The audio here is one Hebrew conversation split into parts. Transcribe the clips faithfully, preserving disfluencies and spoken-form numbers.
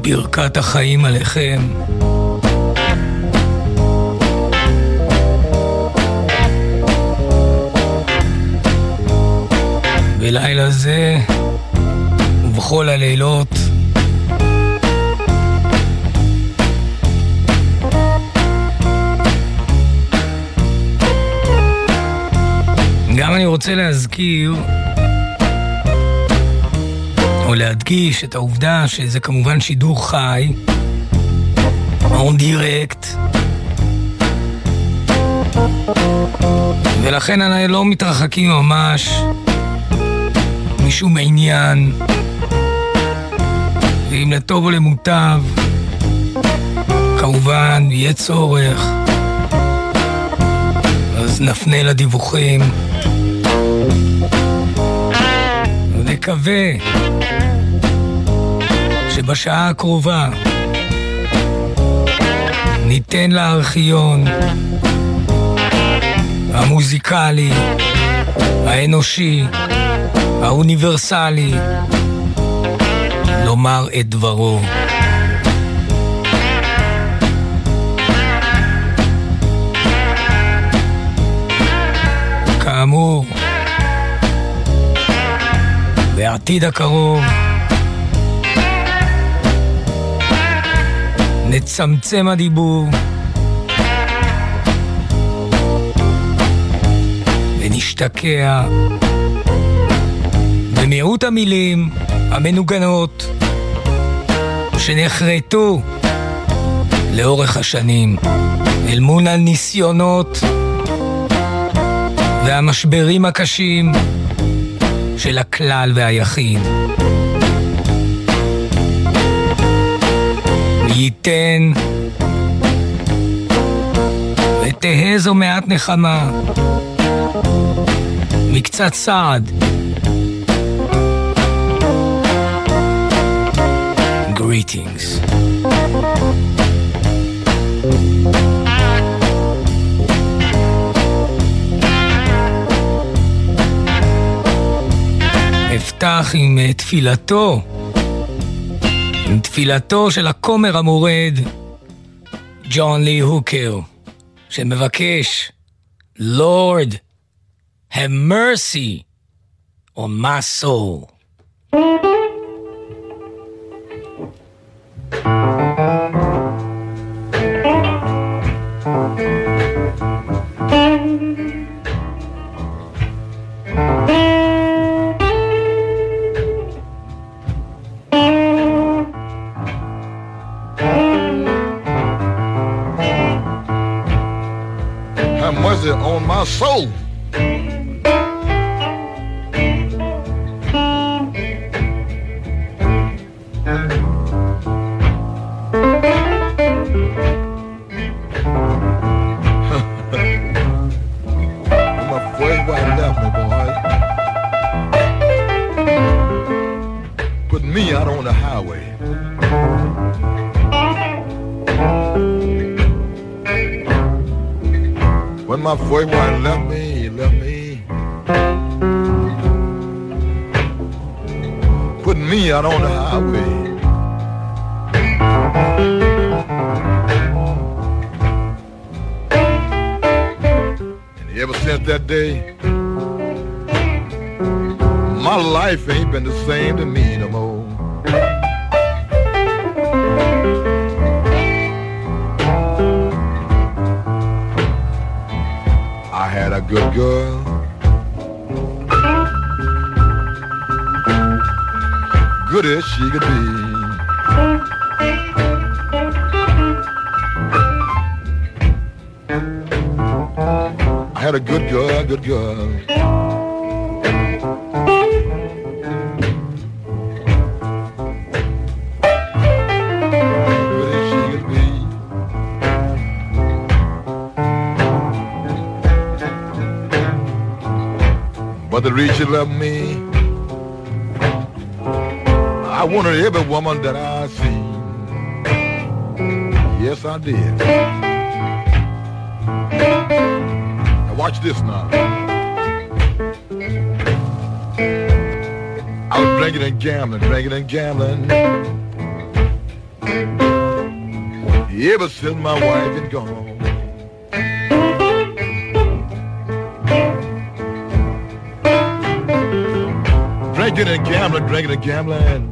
ברכת החיים עליכם. בלילה זה ובכל הלילות גם אני רוצה להזכיר או להדגיש את העובדה שזה כמובן שידור חי on direct, ולכן אני לא מתרחקים ממש משום עניין, ואם לטוב או למוטב כמובן יהיה צורך אז נפנה לדיווחים ונקווה שבשעה הקרובה ניתן לארכיון המוזיקלי, האנושי, האוניברסלי לומר את דברו. כאמור, בעתיד הקרוב נצמצם הדיבור ונשתקע במיעוט המילים המנוגנות שנחרטו לאורך השנים אל מול הניסיונות והמשברים הקשים של הכלל והיחיד. ייתן ותהא זו מעט נחמה מקצת סעד. Greetings. אפתח עם תפילתו, עם תפילתו של הכומר המורד ג'ון לי הוקר, שמבקש Lord have mercy on my soul. On my soul. My first wife left me, boy. Put me out on the highway. When my first wife left me, left me, put me out on the highway. And ever since that day, my life ain't been the same to me no more. I had a good girl, good as she could be. I had a good girl, good girl. But the reason she loved me, I wanted every woman that I seen. Yes, I did. Now watch this now. I was drinking and gambling, drinking and gambling. Ever since my wife been gone. Drinking and gambling, drinking and gambling.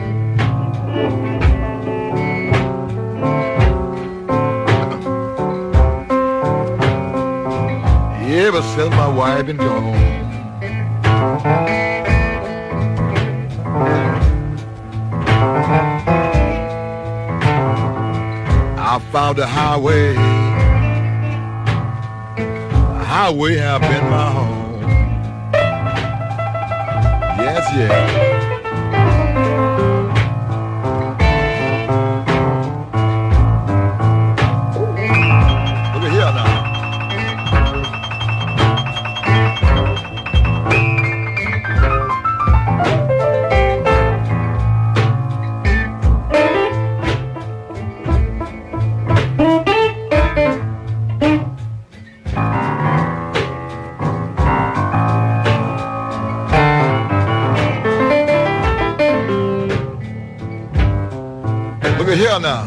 Ever since my wife been gone. I found the highway. The highway have been my home. Yes, yes. Look at here now. Look at here now.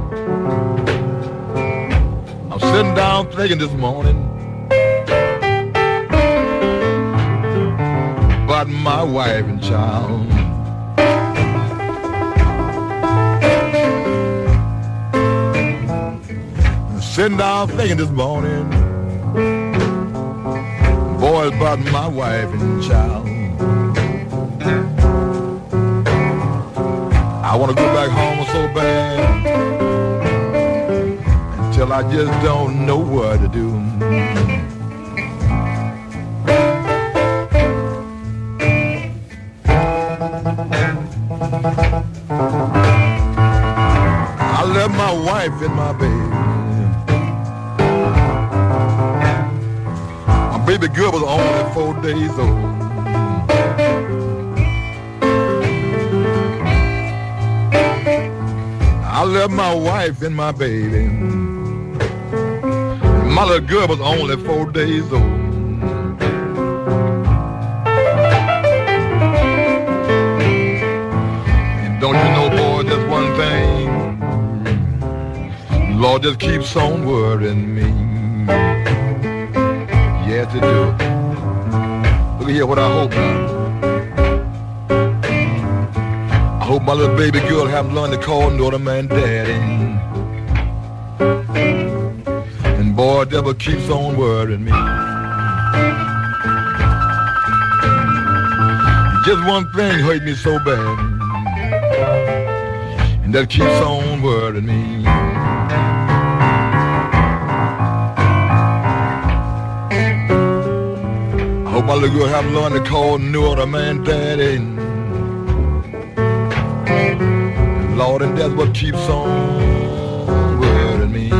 I'm sitting down thinking this morning about my wife and child. I'm sitting down thinking this morning, boy, about my wife and child. I want to go back home so bad until I just don't know what to do. I left my wife and my baby. My baby girl was only four days old. I left my wife and my baby. My little girl was only four days old. And don't you know, boy, just one thing, Lord just keeps on worrying me. Yes, it do. Look at here what I hope now. I hope my little baby girl haven't learned to call no other man daddy. And boy, devil keeps on worrying me. Just one thing hurt me so bad, and that keeps on worrying me. I hope my little girl haven't learned to call no other man daddy. Lord, and that's what keeps on worrying me.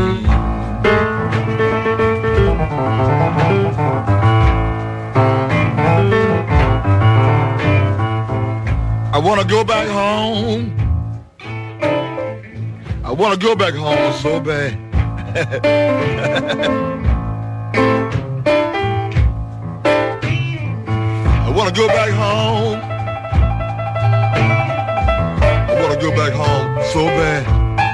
I want to go back home. I want to go back home so bad. I want to go back home. Go back home so bad.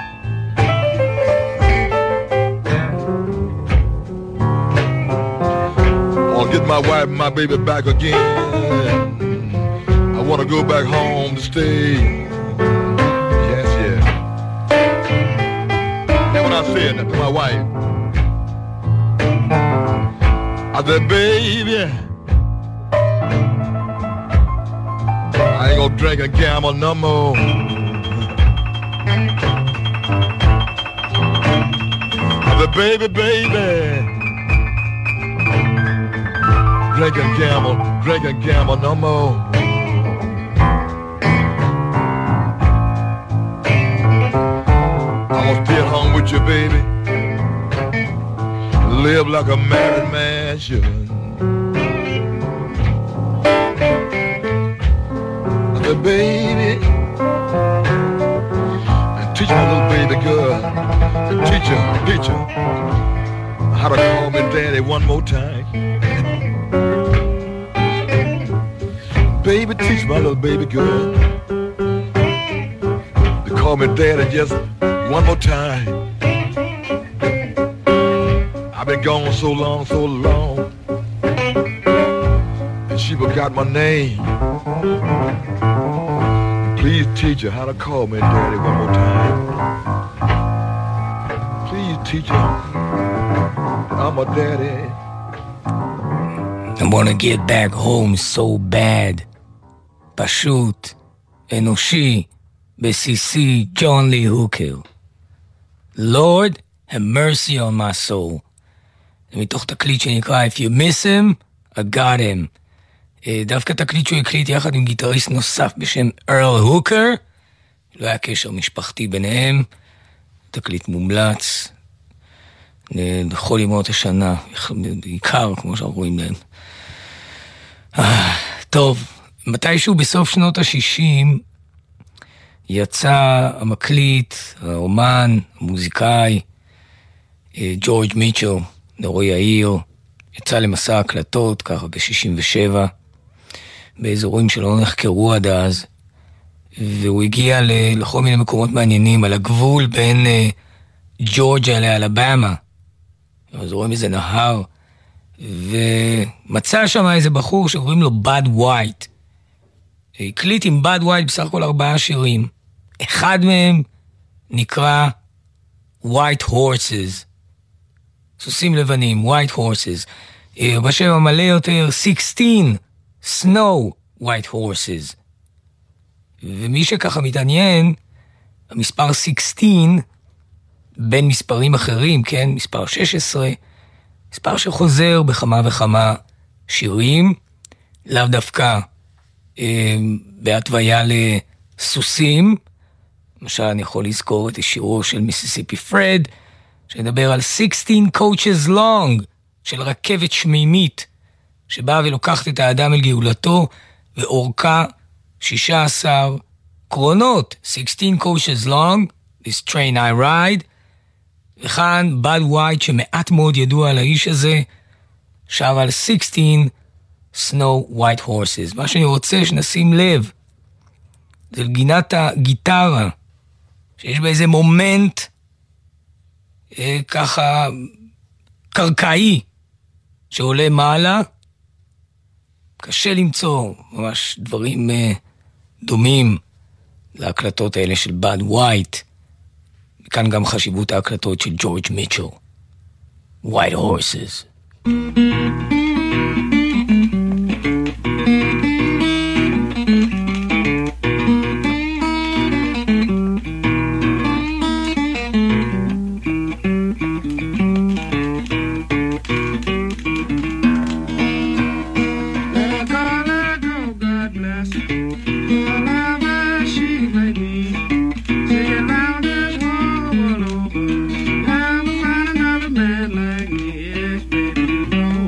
I'll get my wife and my baby back again. I want to go back home to stay. Yes, yes. That's what I said to my wife. I said, baby, I ain't gonna drink and gamble no more. The baby, baby, drink and gamble, drink and gamble no more. I want to stay at home with you, baby, live like a married man should. The baby, and teach my little baby girl. Teach her, teach her how to call me daddy one more time. Baby, teach my little baby girl to call me daddy just one more time. I've been gone so long, so long, and she forgot my name. Please teach her how to call me daddy one more time. Please teach her that I'm a daddy. I wanna get back home so bad. פשוט, אנושי, בסיסי, ג'ון לי הוקר. Lord, have mercy on my soul. זה מתוך תקליט שנקרא If you miss him, I got him. דווקא תקליט שהוא הקליט יחד עם גיטריסט נוסף בשם ארל הוקר. לא היה קשר משפחתי ביניהם. תקליט מומלץ. לכל ימות השנה, בעיקר כמו שאנחנו רואים להם. טוב, מתישהו בסוף שנות ה-שישים יצא המקליט, האומן, המוזיקאי, ג'ורג' מיטשל, נורוי העיר, יצא למסע הקלטות, ככה ב-שישים ושבע, באזורים שלא נחקרו עד אז, והוא הגיע לכל מיני מקומות מעניינים, על הגבול בין ג'ורג'יה לאלבמה, אז רואים איזה נהר, ומצא שם איזה בחור שקוראים לו בד ווייט, הקליט עם בד ווייט בסך הכל ארבעה שירים, אחד מהם נקרא White Horses, סוסים לבנים, White Horses, בשם המלא יותר sixteen Snow White Horses, ומי שככה מתעניין, המספר sixteen, בין מספרים אחרים, כן, מספר שש עשרה, מספר שחוזר בכמה וכמה שירים, לאו דווקא אה, בהתוויה לסוסים, למשל אני יכול לזכור את השירו של מיסיסיפי פרד, שמדבר על sixteen coaches long, של רכבת שמימית, שבאה ולוקחת את האדם אל גאולתו, ואורכה שישה עשר קרונות, sixteen coaches long, this train I ride, וכאן בד ווייט שמעט מאוד ידוע על האיש הזה, שר על sixteen Snow White Horses. מה שאני רוצה שנשים לב, זה לגינת הגיטרה, שיש בה איזה מומנט אה, ככה קרקעי, שעולה מעלה, קשה למצוא ממש דברים אה, דומים להקלטות האלה של בד ווייט, כאן גם חשיבות ההקלטות של ג'ורג' מיטשל. White Horses. Like me, yes, baby, no.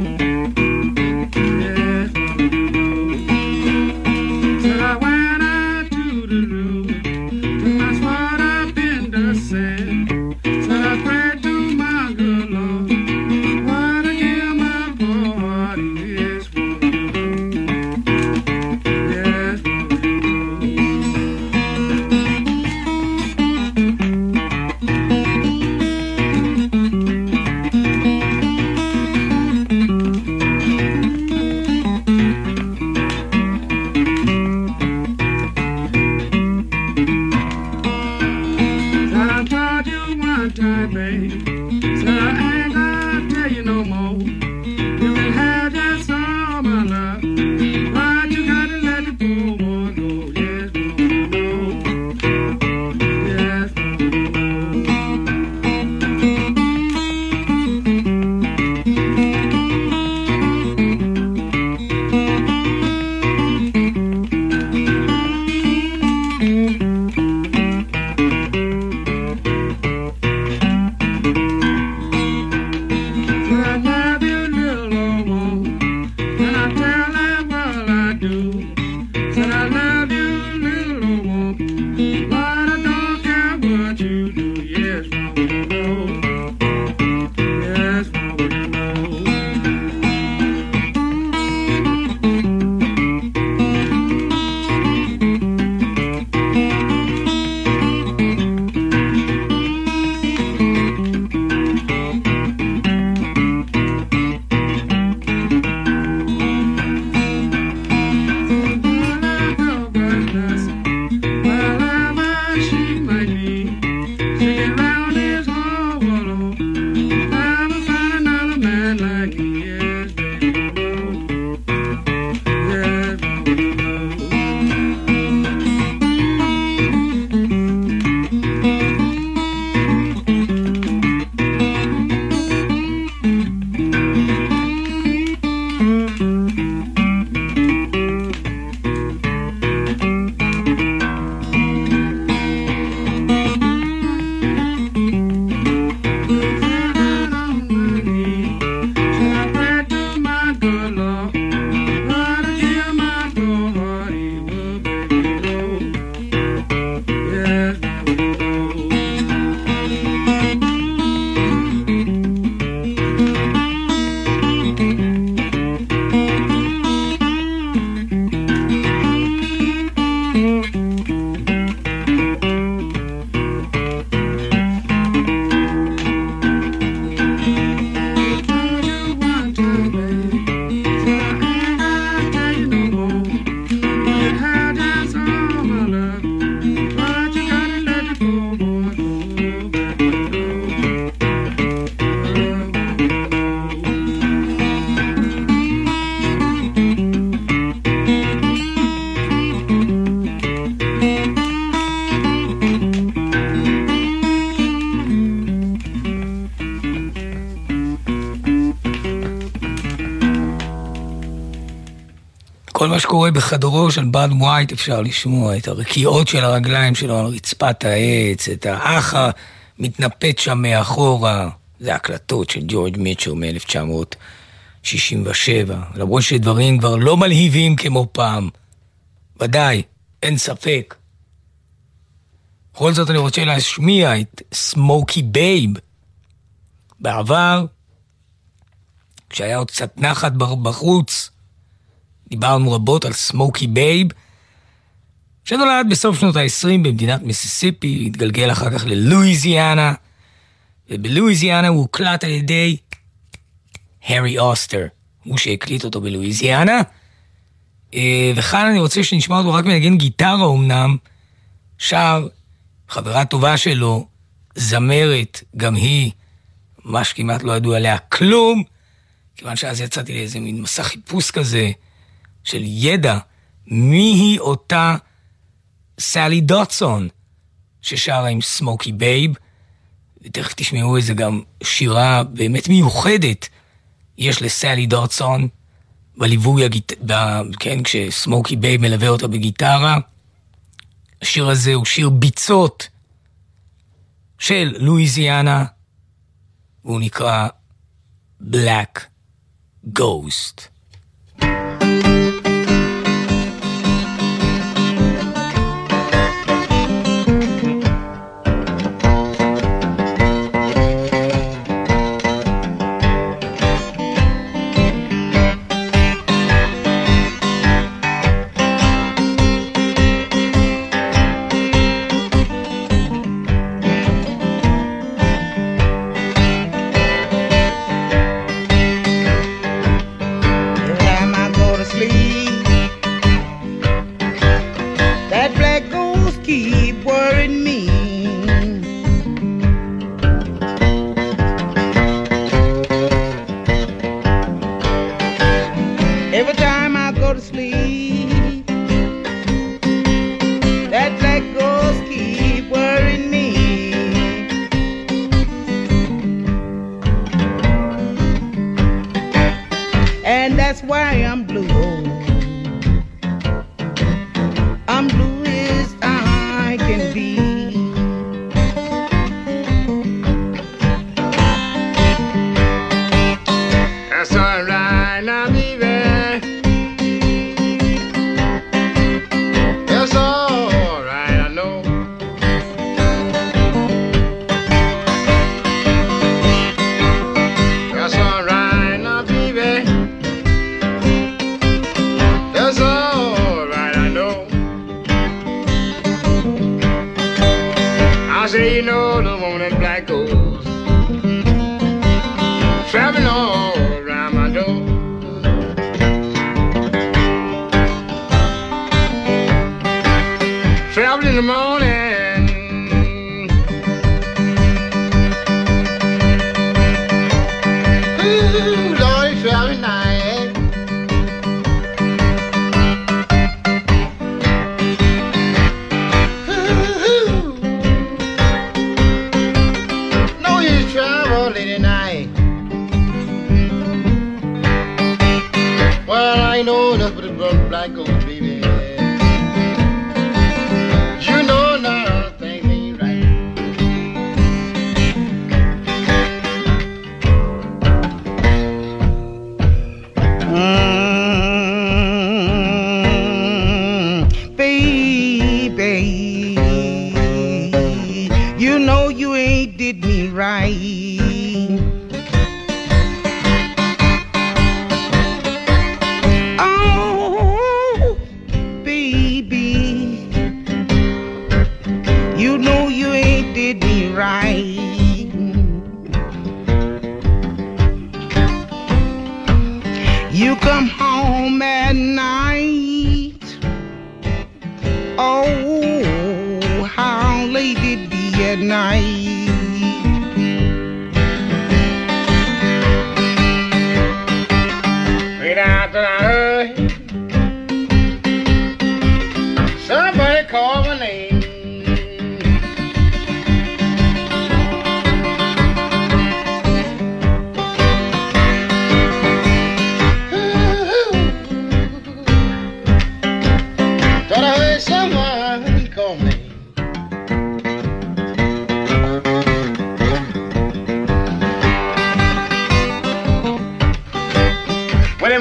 כל מה שקורה בחדרו של בד ווייט אפשר לשמוע, את הרקיעות של הרגליים שלו על רצפת העץ, את האח המתנפט שם מאחורה, זה הקלטות של ג'ורג' מיטשל מ-אלף תשע מאות שישים ושבע, למרות שדברים כבר לא מלהיבים כמו פעם, ודאי, אין ספק. בכל זאת אני רוצה להשמיע את סמוקי בייב. בעבר, כשהיה עוד קצת נחת בחוץ, דיברנו רבות על סמוקי בייב, שנולד בסוף שנות ה-עשרים במדינת מיסיסיפי, התגלגל אחר כך ללואיזיאנה, ובלואיזיאנה הוא הוקלט על ידי הרי אוסטר, הוא שהקליט אותו בלואיזיאנה, וכאן אני רוצה שנשמע אותו רק מנגן גיטרה אומנם, שר חברה טובה שלו, זמרת, גם היא, ממש כמעט לא ידעו עליה כלום, כיוון שאז יצאתי לאיזה מין מסע חיפוש כזה, של ידע, מי היא אותה סלי דוטסון, ששרה עם סמוקי בייב, ותכף תשמעו איזה גם שירה באמת מיוחדת, יש לסלי דוטסון, בליווי, הגיט... ב... כן, כשסמוקי בייב מלווה אותה בגיטרה, השיר הזה הוא שיר ביצות של לואיזיאנה, והוא נקרא Black Ghost.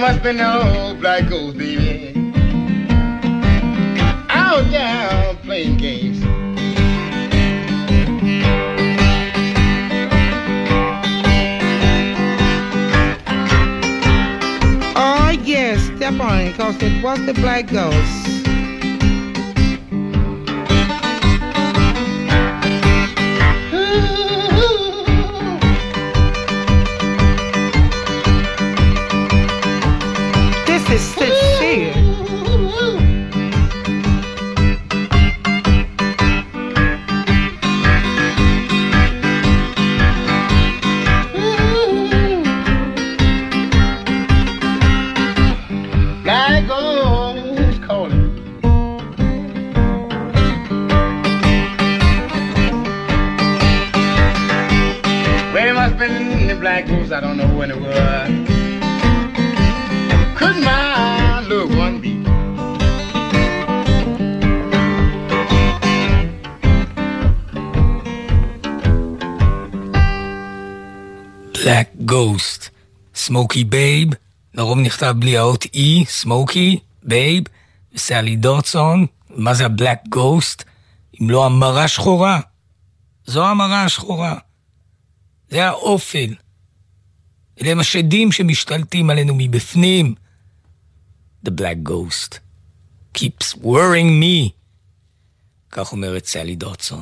must be no black ghost, baby. Out there playing games. Oh yes, step on it, cause it was the black ghost. This is sincere. Black ghost calling. Well, it must have been the black ghost, I don't know when it was. Could my little one be? Black Ghost, סמוקי בייב, לרוב נכתב בלי האות E, סמוקי, בייב, וסלי דוטסון. מה זה הבלק גוסט? אם לא המרה שחורה. זו המרה השחורה. זה האופל. אלה הם השדים שמשתלטים עלינו מבפנים. The black ghost keeps worrying me. כך אומרת סלי דוטסון.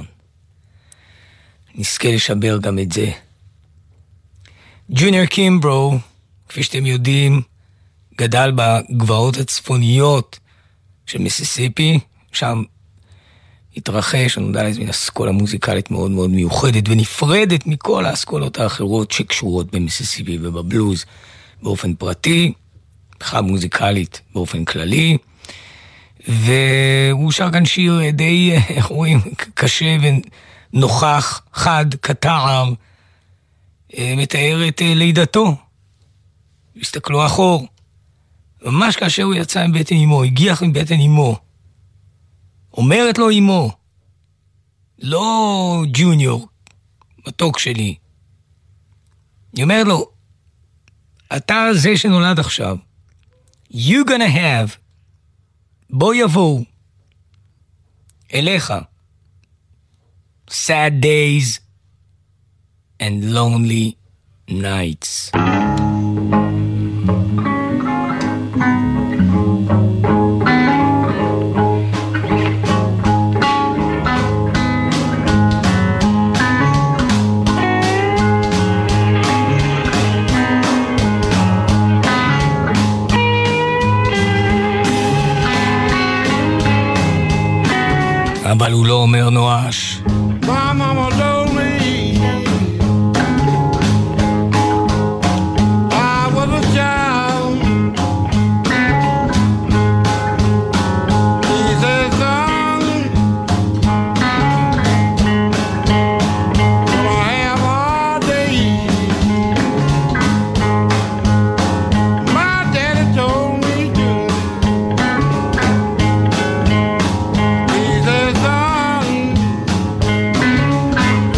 נזכה לשבר גם את זה. ג'וניור קימברו, כפי שאתם יודעים, גדל בגבעות הצפוניות של מיסיסיפי, שם התרחש, נודע לזה מן אסכולה מוזיקלית מאוד מאוד מיוחדת ונפרדת מכל האסכולות האחרות שקשורות במיסיסיפי ובבלוז באופן פרטי, בכלל מוזיקלית באופן כללי, והוא שר כאן שיר די, איך רואים, קשה ונוכח, חד, קטער, מתאר את לידתו. הסתכלו אחור, ממש כאשר הוא יצא עם בטן אמו, הגיח עם בטן אמו, אומרת לו אמו, לא ג'וניור, מתוק שלי, היא אומרת לו, אתה זה שנולד עכשיו, you gonna have, בוא יבואו, אליך, sad days and lonely nights. אבל הוא לא אומר נואש. My mama told me I was a child. He said, son, gonna have hard days. My daddy told me to. He said, son,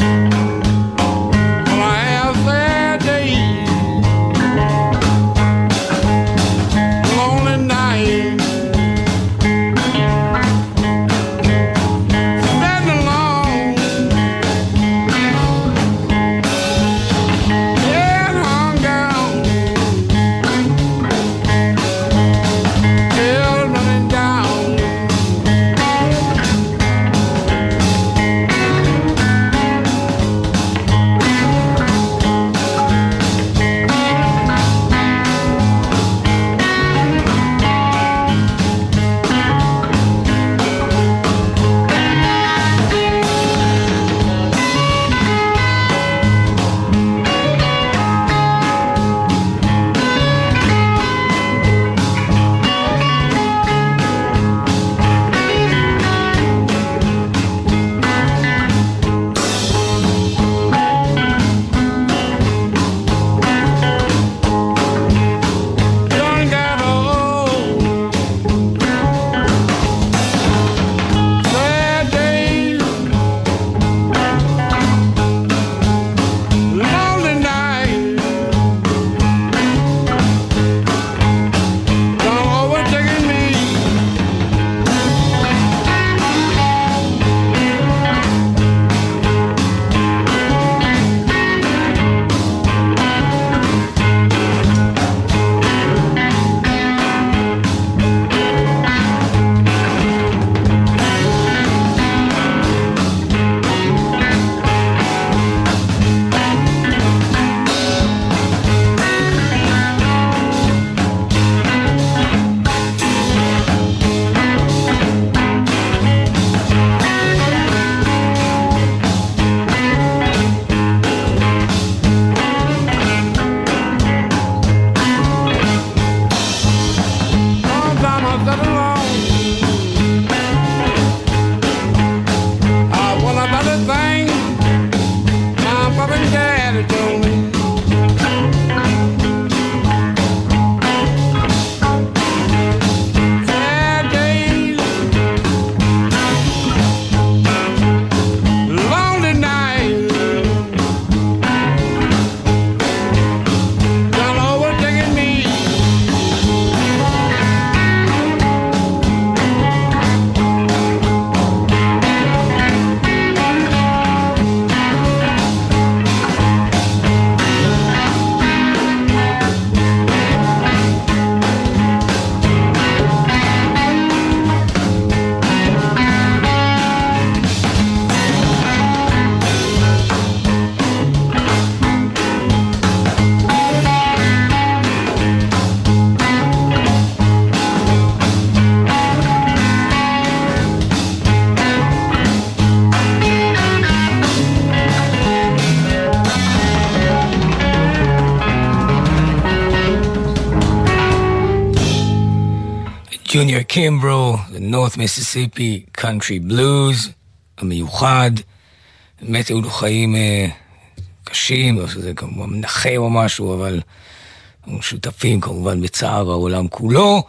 ג'וניור קימברו, North Mississippi Country Blues, המיוחד. באמת היו לו חיים אה, קשים, או שזה כמובן מנחם או משהו, אבל הם שותפים כמובן בצער העולם כולו.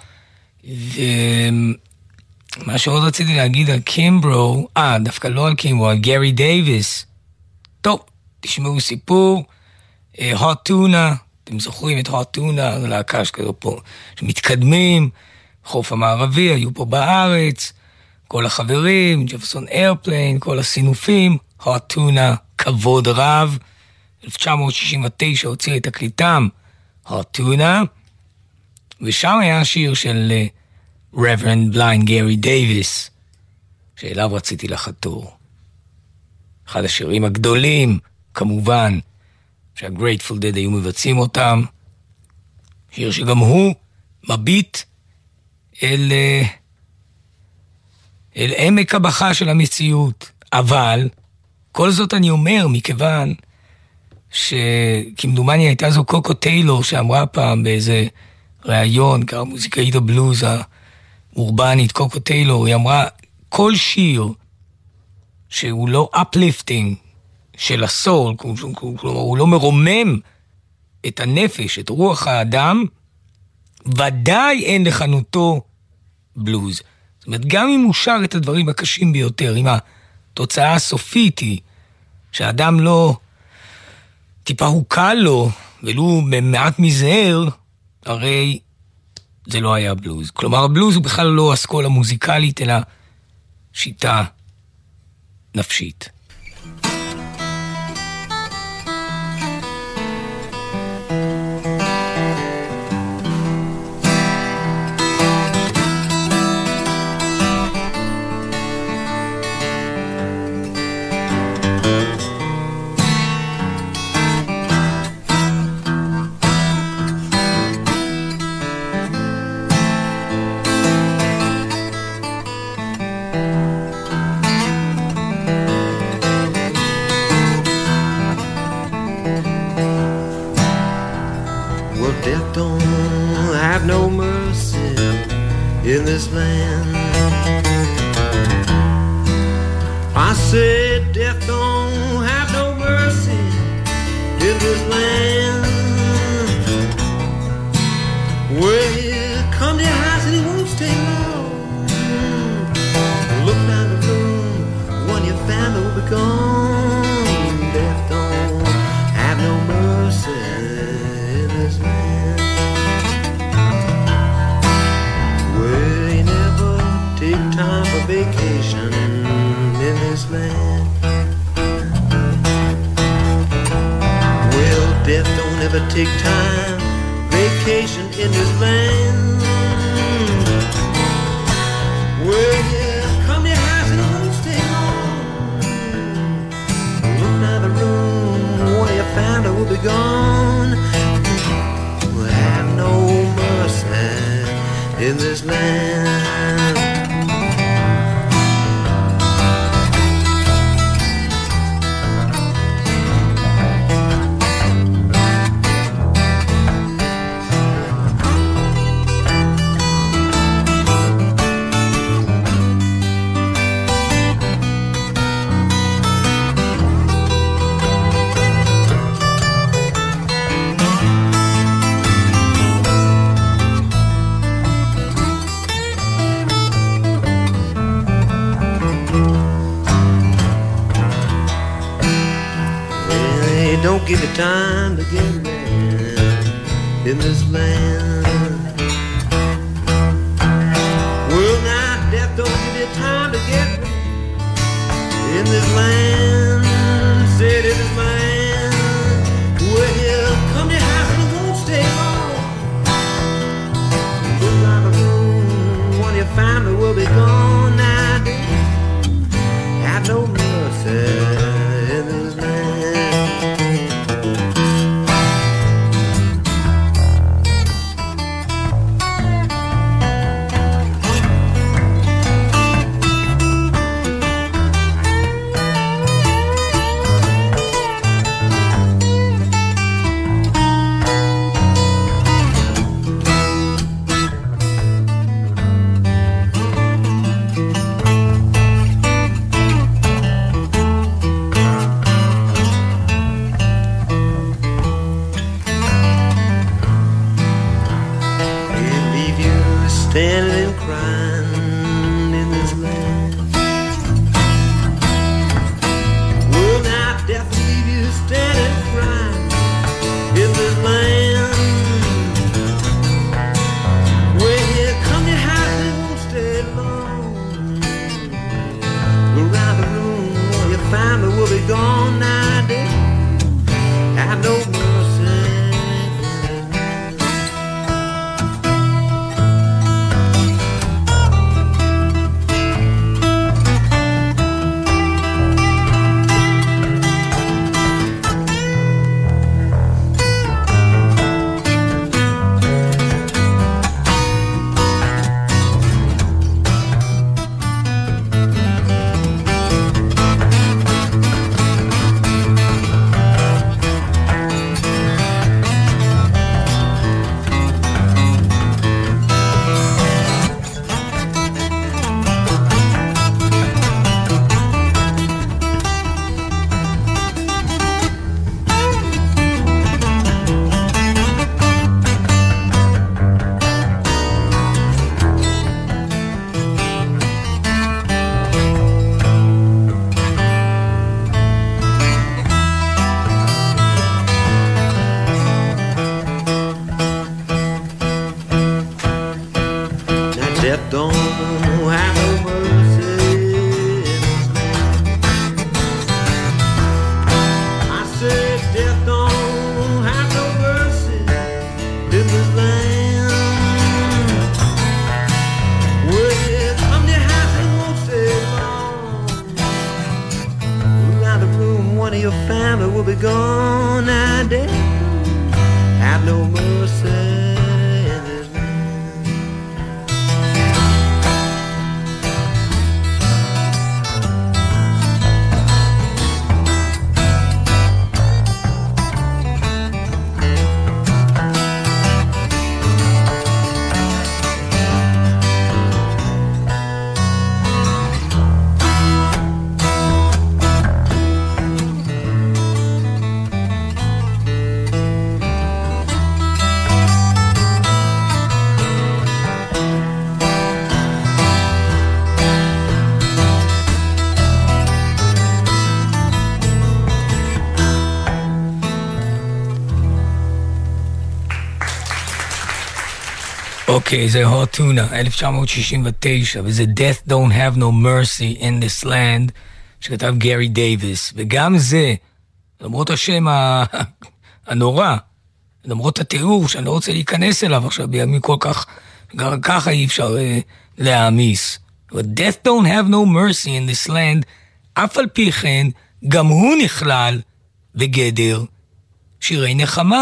ומה שעוד רציתי להגיד על קימברו, אה, דווקא לא על קימברו, על גרי דייביס. טוב, תשמעו סיפור, הוט טונה, אתם זוכרים את הוט טונה, להקה שכזו פה, שמתקדמים, חוף המערבי, היו פה בארץ, כל החברים, ג'פרסון איירפליין, כל הסינופים, הוט טונה, כבוד רב. אלף תשע מאות שישים ותשע הוציא את תקליטם, הוט טונה, ושם היה שיר של רברנד בליינד גרי דייביס, שאליו רציתי לחתור. אחד השירים הגדולים, כמובן, שהגרייטפול דד היו מבצעים אותם, שיר שגם הוא מביט אל, אל עמק הבכה של המציאות. אבל כל זאת אני אומר מכיוון שכמדומני הייתה זו קוקו טיילור שאמרה פעם באיזה ראיון, קרא מוזיקאית הבלוז האורבנית קוקו טיילור, היא אמרה כל שיר שהוא לא uplifting של הסול, כלומר הוא לא מרומם את הנפש, את רוח האדם, ודאי אין לכנותו בלוז. זאת אומרת, גם אם הוא שר את הדברים הקשים ביותר, אם התוצאה הסופית היא שהאדם לא טיפה הוקל לו, ולו במעט מזהר, הרי זה לא היה בלוז. כלומר, הבלוז הוא בכלל לא אסכולה מוזיקלית, אלא שיטה נפשית. In this land, I said death don't have no mercy in this land. Well, come to your house and it won't stay long. Look down the room, one your family will be gone. Death don't have no mercy in this land. Take time for vacation in this land. Well, death don't ever take time vacation in this land. Well, yeah, come to your house and it won't stay long. Look down the room where your family will be gone. We'll have no mercy in this land. Don't give you time to get ready in this land. Well, now death don't give you time to get ready in this land. Said in this land. Well, come to your house and it won't stay long. Look around the room, one of your family will be gone now. Have no mercy in this land. one of your family will be gone. Now death have no mercy in this land. אוקיי, זה הוט טונה, אלף תשע מאות שישים ותשע, וזה Death Don't Have No Mercy in This Land, שכתב גרי דייביס, וגם זה, למרות השם הנורא, למרות התיאור שאני לא רוצה להיכנס אליו עכשיו, בימים כל כך, גם ככה אי אפשר uh, להעמיס. אבל Death Don't Have No Mercy in This Land, אף על פי כן, גם הוא נכלל בגדר שירי נחמה.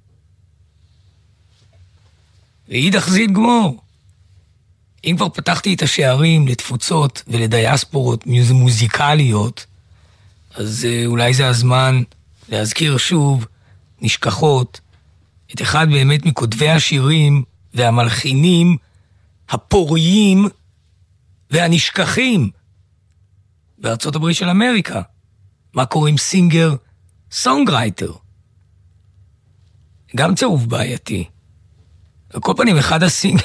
ואידך זיל גמור. אם כבר פתחתי את השערים לתפוצות ולדיאספורות מוזיקליות, אז uh, אולי זה הזמן להזכיר שוב, נשכחות, את אחד באמת מכותבי השירים והמלחינים הפוריים והנשכחים בארצות הברית של אמריקה. מה קוראים סינגר סונגרייטר? גם צירוף בעייתי. על כל פנים, אחד הסינגר...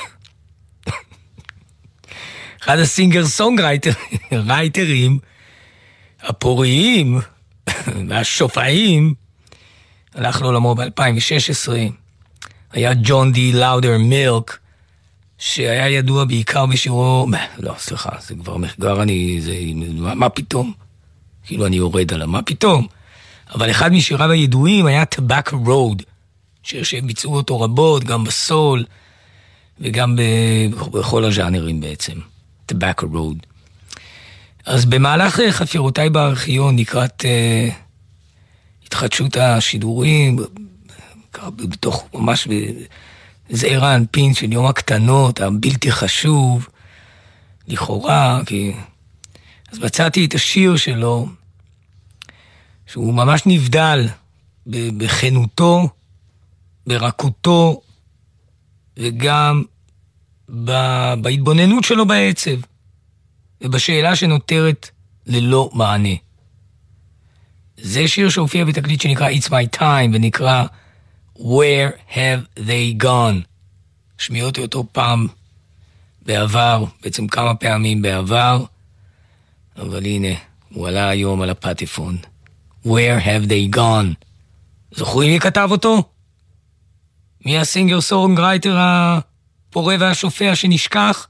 אחד הסינגר סונגרייטרים הפוריים והשופעים הלך לעולמו ב-אלפיים ושש עשרה. היה ג'ון די לאודר מילק, שהיה ידוע בעיקר בשירו... לא, סליחה, זה כבר מחגר, אני... זה... מה, מה פתאום? כאילו אני יורד עליו, מה פתאום? אבל אחד משיריו הידועים היה Tobacco Road, שיר שהם ביצעו אותו רבות, גם בסול, וגם ב... בכל הז'אנרים בעצם. Tobacco Road. אז במהלך חפירותיי בארכיון, לקראת uh, התחדשות השידורים, בתוך ממש זעיר האנפין של יום הקטנות, הבלתי חשוב, לכאורה, כי... אז מצאתי את השיר שלו, שהוא ממש נבדל בכנותו, ברכותו, וגם בהתבוננות שלו בעצב, ובשאלה שנותרת ללא מענה. זה שיר שהופיע בתקליט שנקרא It's My Time, ונקרא Where Have They Gone. שמיעתי אותו פעם בעבר, בעצם כמה פעמים בעבר, אבל הנה, הוא עלה היום על הפטיפון. Where Have They Gone. זוכרים מי כתב אותו? מי הסינגר סונגרייטר הפורה והשופע שנשכח?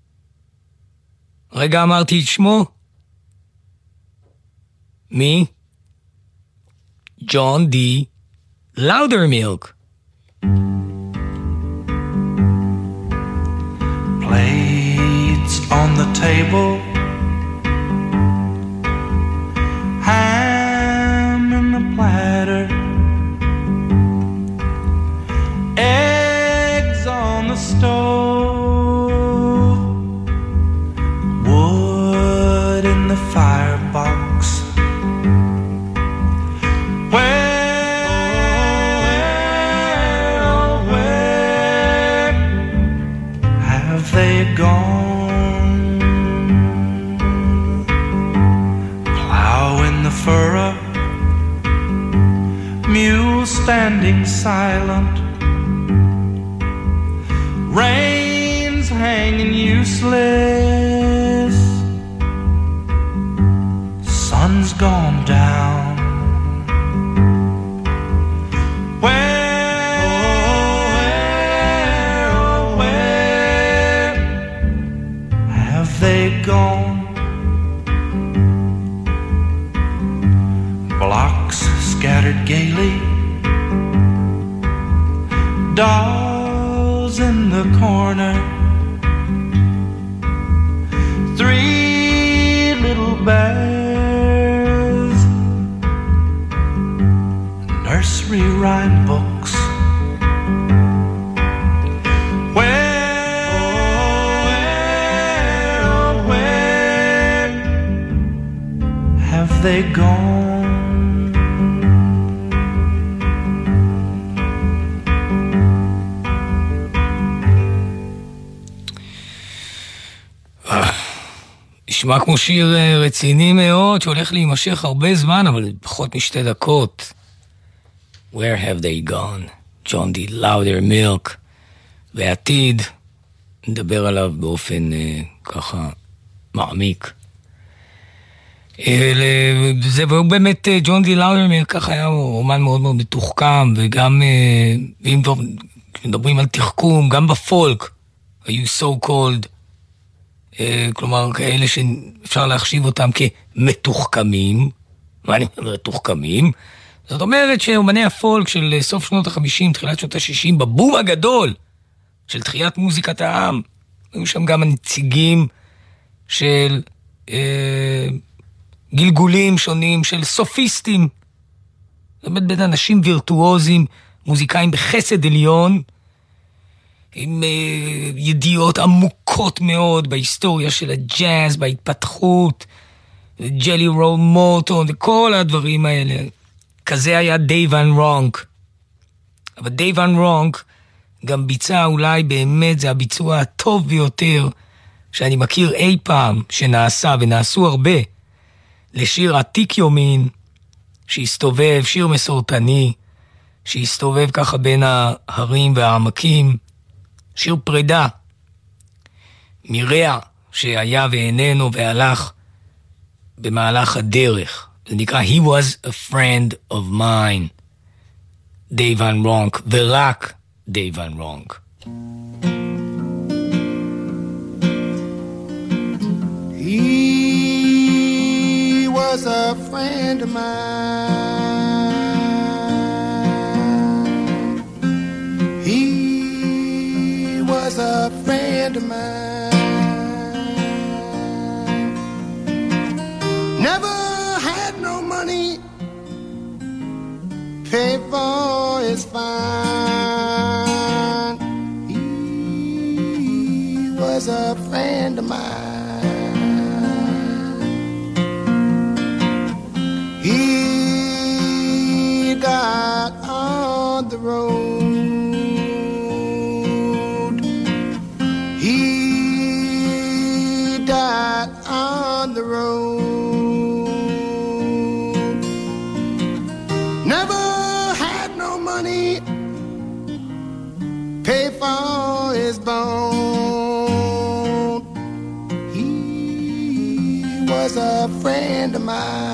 רגע אמרתי את שמו? מי? ג'ון די לאודר מילק. Plates on the table, ham in the platter, eggs on the stove, wood in the firebox. Where, oh, where have they gone? Plow in the furrow, mule standing silent, reins hanging useless, sun's gone down. Where, oh, where have they gone? Blocks scattered gaily, dolls in the corner, three little bears rewrite books. Where, where, oh, where have they gone? נשמע כמו שיר רציני מאוד, שהולך להימשך הרבה זמן, אבל פחות משתי דקות. Where have they gone? John D. Loudermilk. ועתיד, נדבר עליו באופן uh, ככה מעמיק. זה באמת, ג'ון די לאודרמילק ככה היה אומן מאוד מאוד מתוחכם, וגם, ואם מדברים על תחכום, גם בפולק, היו so called, כלומר, כאלה שאפשר להחשיב אותם כמתוחכמים. מה אני אומר מתוחכמים? זאת אומרת שאומני הפולק של סוף שנות ה-חמישים, תחילת שנות ה-שישים, בבום הגדול של תחיית מוזיקת העם, היו שם גם הנציגים של אה, גלגולים שונים, של סופיסטים. זאת אומרת, בין אנשים וירטואוזים, מוזיקאים בחסד עליון, עם uh, ידיעות עמוקות מאוד בהיסטוריה של הג'אז, בהתפתחות, ג'לי רול מורטון וכל הדברים האלה. כזה היה דייב ון רונק. אבל דייב ון רונק גם ביצע אולי באמת, זה הביצוע הטוב ביותר שאני מכיר אי פעם שנעשה, ונעשו הרבה, לשיר עתיק יומין, שהסתובב, שיר מסורתני, שהסתובב ככה בין ההרים והעמקים, שיר פרידה מרע שהיה ואיננו והלך במהלך הדרך. זה נקרא He was a friend of mine, דייב ון רונק, ורק דייב ון רונק. He was a friend of mine. He was a friend of mine. Never had no money, pay for his fine. He was a friend of mine. He died on the road. On the road, never had no money, pay for his bone. He was a friend of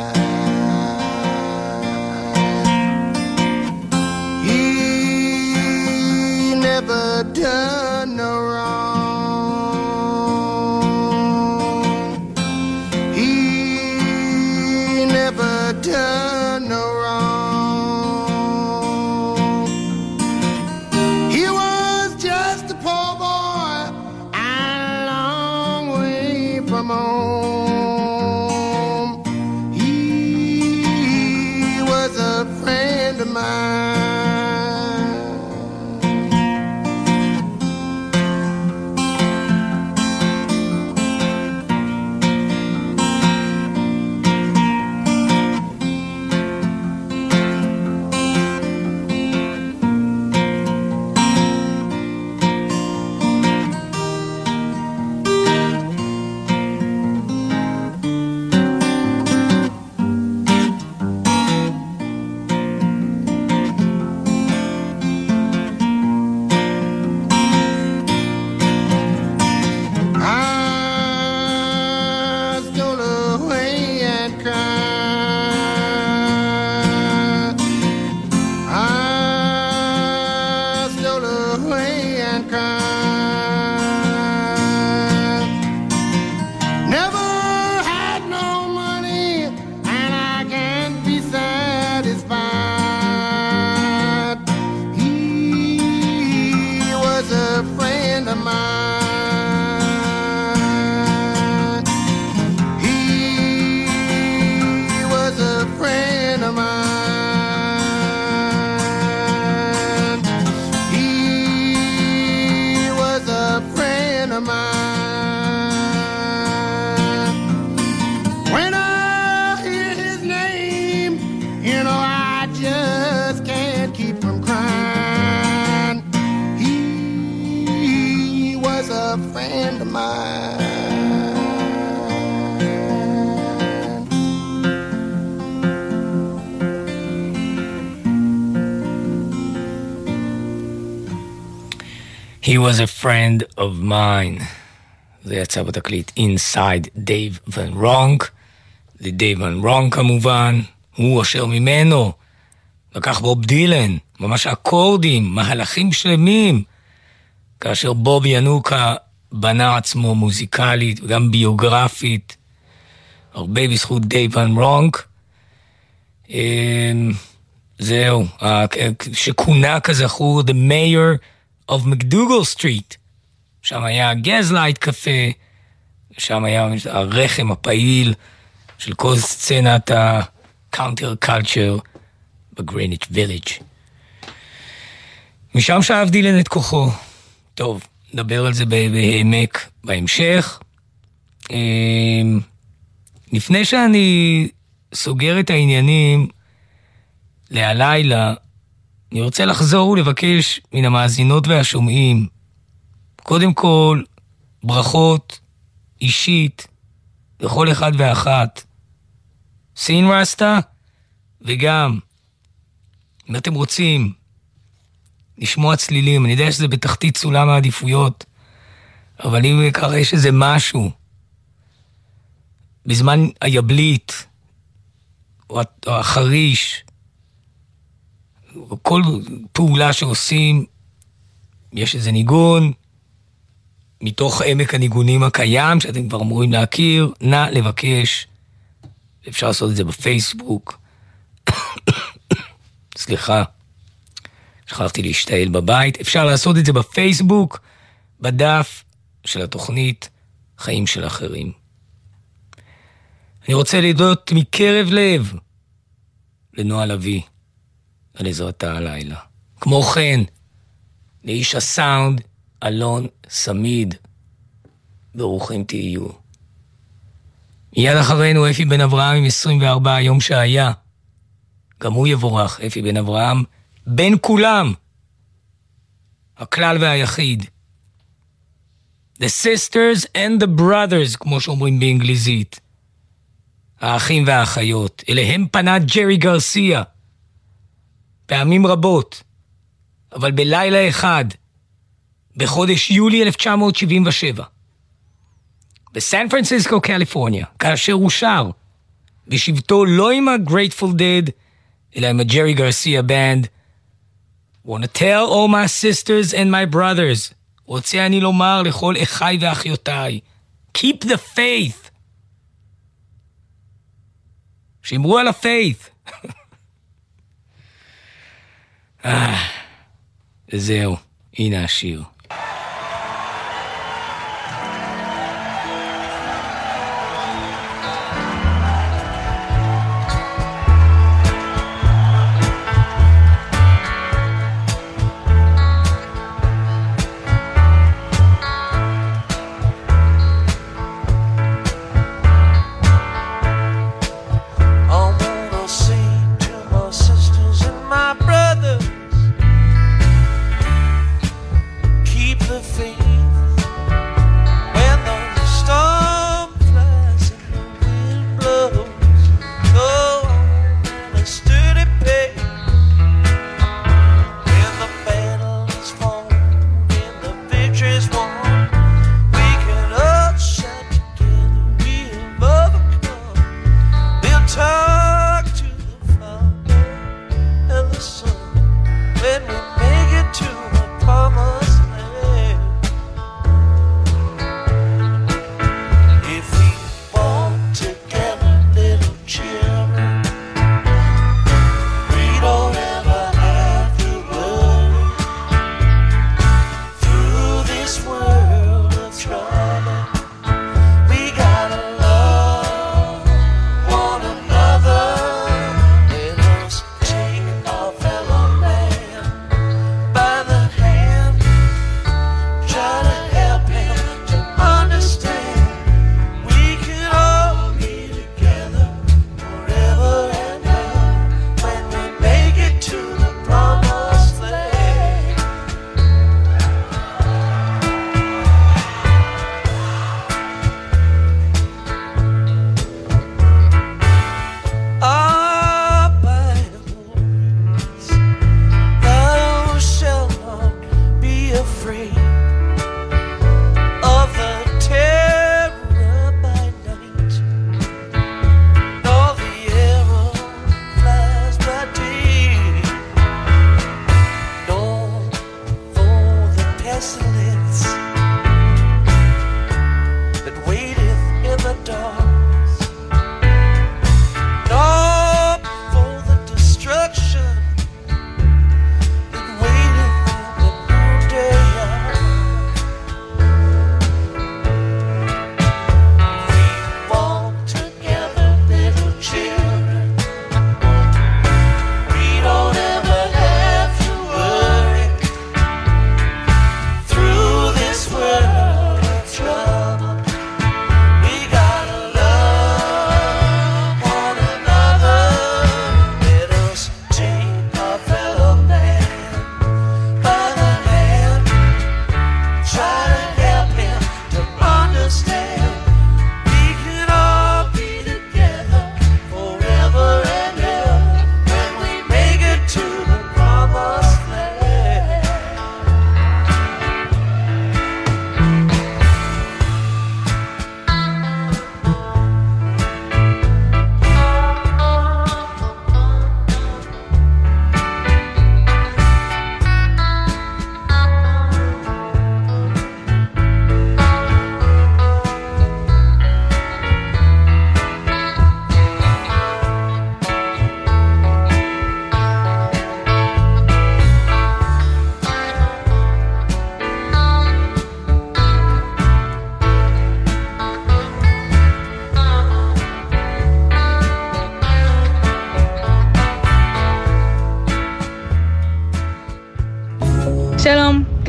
mine. He never done no wrong. Done no wrong. He was just a poor boy He was a friend of mine. זה יצא בתקליט Inside Dave Van Ronk. זה דייב ון רונק כמובן, הוא אשר ממנו לקח בוב דילן, ממש אקורדים, מהלכים שלמים, כאשר בוב ינוקה בנה עצמו מוזיקלית וגם ביוגרפית, הרבה בזכות דייב ון רונק. זהו, שכונה כזכור The Mayor of McDougal Street, שם היה גזלייט קפה, שם היה הרחם הפעיל של כל סצנת הקאונטר קלצ'ר בגריניץ' ויליג'. משם שאב דילן את כוחו. טוב, נדבר על זה בהעמק בהמשך. לפני שאני סוגר את העניינים להלילה, אני רוצה לחזור ולבקש מן המאזינות והשומעים, קודם כל, ברכות אישית לכל אחד ואחת. סין רסטה, וגם, אם אתם רוצים לשמוע צלילים, אני יודע שזה בתחתית סולם העדיפויות, אבל אם ככה יש איזה משהו, בזמן היבלית, או החריש, או כל פעולה שעושים, יש איזה ניגון, מתוך עמק הניגונים הקיים, שאתם כבר אמורים להכיר, נא לבקש, אפשר לעשות את זה בפייסבוק, סליחה, שכחתי להשתעל בבית, אפשר לעשות את זה בפייסבוק, בדף של התוכנית חיים של אחרים. אני רוצה להודות מקרב לב לנועה לוי על עזרתה הלילה. כמו כן, לאיש הסאונד אלון סמיד, ברוכים תהיו. מיד אחרינו אפי בן אברהם עם עשרים וארבע יום שהיה, גם הוא יבורך, אפי בן אברהם, בין כולם, הכלל והיחיד. The sisters and the brothers, כמו שאומרים באנגליזית. האחים והאחיות, אליהם פנה ג'רי גרסיה, פעמים רבות, אבל בלילה אחד, בחודש יולי אלף תשע מאות שבעים ושבע, בסן פרנסיסקו, קליפורניה, כאשר הוא שר, בשבתו לא עם ה-Grateful Dead, אלא עם ה-Jerry Garcia Band, want to tell all my sisters and my brothers, רוצה אני לומר לכל אחיי ואחיותיי, keep the faith, שמרו על ה-faith. אה, וזהו, הנה השיר.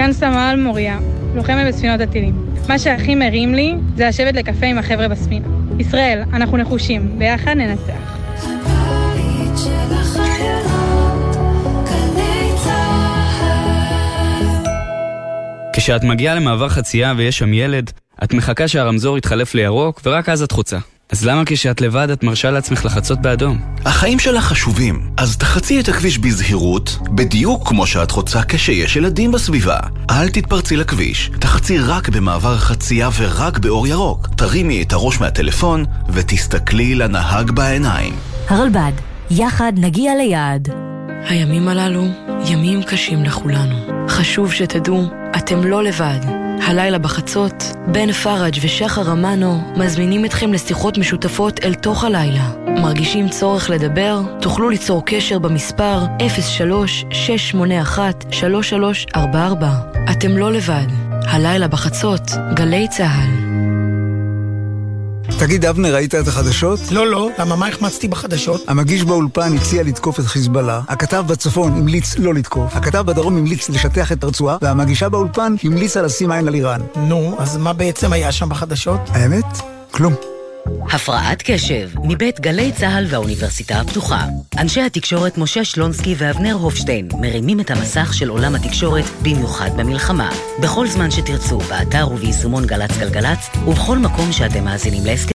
כאן סמל מוריה, לוחמת בספינות הטילים. מה שהכי מרים לי זה לשבת לקפה עם החבר'ה בספינה. ישראל, אנחנו נחושים, ביחד ננצח. הבית של החיילות, גלי צהל. כשאת מגיעה למעבר חצייה ויש שם ילד, את מחכה שהרמזור יתחלף לירוק ורק אז את חוצה. אז למה כשאת לבד את מרשה לעצמך לחצות באדום? החיים שלך חשובים, אז תחצי את הכביש בזהירות, בדיוק כמו שאת חוצה כשיש ילדים בסביבה. אל תתפרצי לכביש, תחצי רק במעבר חצייה ורק באור ירוק. תרימי את הראש מהטלפון ותסתכלי לנהג בעיניים. הרלב"ד, יחד נגיע ליעד. הימים הללו ימים קשים לכולנו. חשוב שתדעו, אתם לא לבד. הלילה בחצות, בן פרג' ושחר אמנו מזמינים אתכם לשיחות משותפות אל תוך הלילה. מרגישים צורך לדבר? תוכלו ליצור קשר במספר אפס שלוש שש שמונה אחת שלוש שלוש ארבע ארבע. אתם לא לבד. הלילה בחצות, גלי צהל. תגיד, אבנר, ראית את החדשות? לא, לא. למה, מה החמצתי בחדשות? המגיש באולפן הציע לתקוף את חיזבאללה, הכתב בצפון המליץ לא לתקוף, הכתב בדרום המליץ לשטח את הרצועה, והמגישה באולפן המליצה לשים עין על איראן. נו, אז מה בעצם היה שם בחדשות? האמת? כלום. הפרעת קשב, מבית גלי צהל והאוניברסיטה הפתוחה. אנשי התקשורת משה שלונסקי ואבנר הופשטיין מרימים את המסך של עולם התקשורת במיוחד במלחמה. בכל זמן שתרצו, באתר וביישומון גלץ גלגלץ, ובכל מקום שאתם מאזינים להסכם.